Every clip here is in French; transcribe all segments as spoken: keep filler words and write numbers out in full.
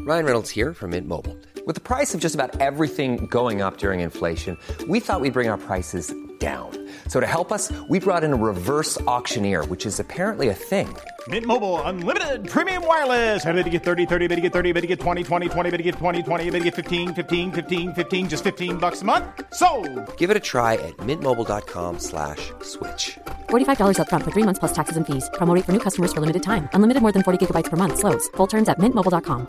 Ryan Reynolds here from Mint Mobile. With the price of just about everything going up during inflation, we thought we'd bring our prices down. So to help us, we brought in a reverse auctioneer, which is apparently a thing. Mint Mobile Unlimited Premium Wireless. How to get thirty, thirty, how to get thirty, how to get twenty, twenty, twenty, how to get twenty, twenty, how to get fifteen, fifteen, fifteen, fifteen, just fifteen bucks a month? Sold! Give it a try at mintmobile.com slash switch. forty-five dollars up front for three months plus taxes and fees. Promo rate for new customers for limited time. Unlimited more than forty gigabytes per month. Slows full terms at mint mobile dot com.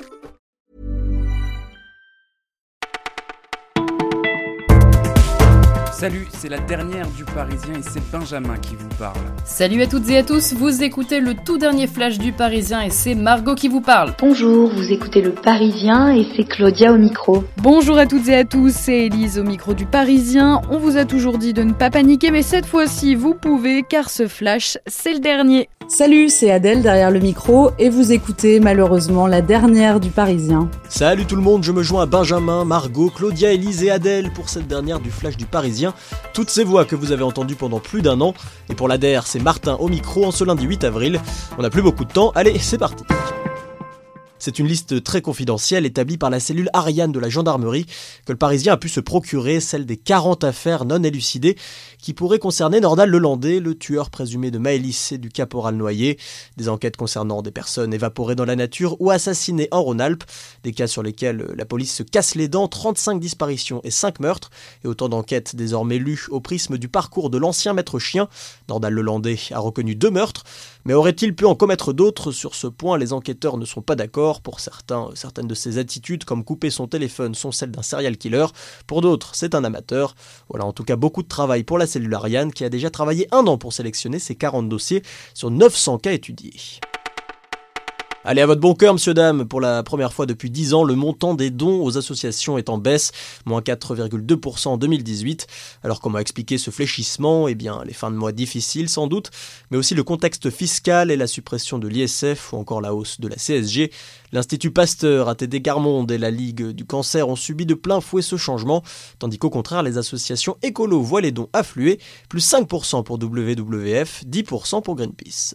Salut, c'est la dernière du Parisien et c'est Benjamin qui vous parle. Salut à toutes et à tous, vous écoutez le tout dernier flash du Parisien et c'est Margot qui vous parle. Bonjour, vous écoutez le Parisien et c'est Claudia au micro. Bonjour à toutes et à tous, c'est Élise au micro du Parisien. On vous a toujours dit de ne pas paniquer, mais cette fois-ci vous pouvez car ce flash, c'est le dernier. Salut, c'est Adèle derrière le micro et vous écoutez malheureusement la dernière du Parisien. Salut tout le monde, je me joins à Benjamin, Margot, Claudia, Élise et Adèle pour cette dernière du flash du Parisien. Toutes ces voix que vous avez entendues pendant plus d'un an. Et pour l'A D R, c'est Martin au micro en ce lundi huit avril. On n'a plus beaucoup de temps, allez, c'est parti. C'est une liste très confidentielle établie par la cellule Ariane de la gendarmerie que le Parisien a pu se procurer, celle des quarante affaires non élucidées qui pourraient concerner Nordal Lelandais, le tueur présumé de Maëlys et du caporal Noyer. Des enquêtes concernant des personnes évaporées dans la nature ou assassinées en Rhône-Alpes. Des cas sur lesquels la police se casse les dents, trente-cinq disparitions et cinq meurtres. Et autant d'enquêtes désormais lues au prisme du parcours de l'ancien maître chien. Nordal Lelandais a reconnu deux meurtres. Mais aurait-il pu en commettre d'autres ? Sur ce point, les enquêteurs ne sont pas d'accord. Pour certains, certaines de ses attitudes, comme couper son téléphone, sont celles d'un serial killer. Pour d'autres, c'est un amateur. Voilà en tout cas beaucoup de travail pour la cellule Ariane qui a déjà travaillé un an pour sélectionner ses quarante dossiers sur neuf cents cas étudiés. Allez, à votre bon cœur, monsieur, dame. Pour la première fois depuis dix ans, le montant des dons aux associations est en baisse, moins quatre virgule deux pour cent en deux mille dix-huit. Alors comment expliquer ce fléchissement ? Eh bien, les fins de mois difficiles sans doute, mais aussi le contexte fiscal et la suppression de l'I S F ou encore la hausse de la C S G. L'Institut Pasteur, A T D Quart Monde et la Ligue du Cancer ont subi de plein fouet ce changement, tandis qu'au contraire, les associations écolo voient les dons affluer, plus cinq pour cent pour W W F, dix pour cent pour Greenpeace.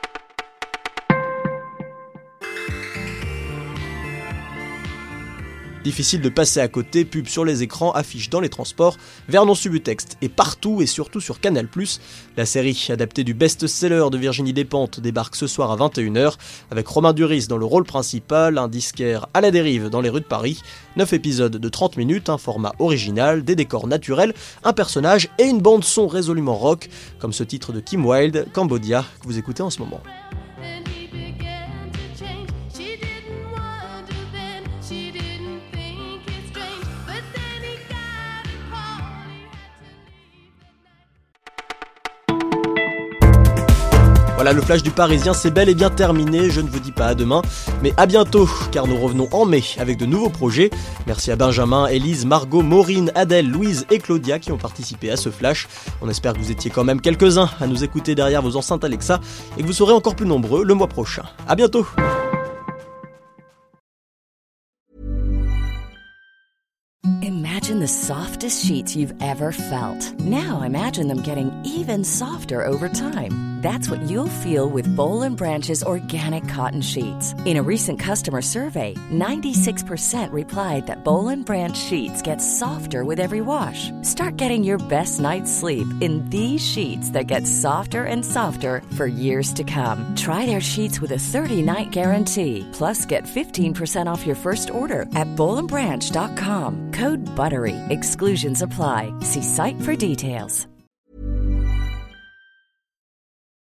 Difficile de passer à côté, pub sur les écrans, affiches dans les transports, Vernon Subutex et partout et surtout sur Canal plus. La série adaptée du best-seller de Virginie Despentes débarque ce soir à vingt et une heures avec Romain Duris dans le rôle principal, un disquaire à la dérive dans les rues de Paris. neuf épisodes de trente minutes, un format original, des décors naturels, un personnage et une bande son résolument rock, comme ce titre de Kim Wilde, Cambodia, que vous écoutez en ce moment. Voilà, le flash du Parisien, c'est bel et bien terminé, je ne vous dis pas à demain, mais à bientôt, car nous revenons en mai avec de nouveaux projets. Merci à Benjamin, Élise, Margot, Maureen, Adèle, Louise et Claudia qui ont participé à ce flash. On espère que vous étiez quand même quelques-uns à nous écouter derrière vos enceintes Alexa et que vous serez encore plus nombreux le mois prochain. À bientôt. Imagine the softest sheets you've ever felt. Now imagine them getting even softer over time. That's what you'll feel with Boll and Branch's organic cotton sheets. In a recent customer survey, ninety-six percent replied that Boll and Branch sheets get softer with every wash. Start getting your best night's sleep in these sheets that get softer and softer for years to come. Try their sheets with a thirty-night guarantee. Plus, get fifteen percent off your first order at boll and branch dot com. Code BUTTERY. Exclusions apply. See site for details.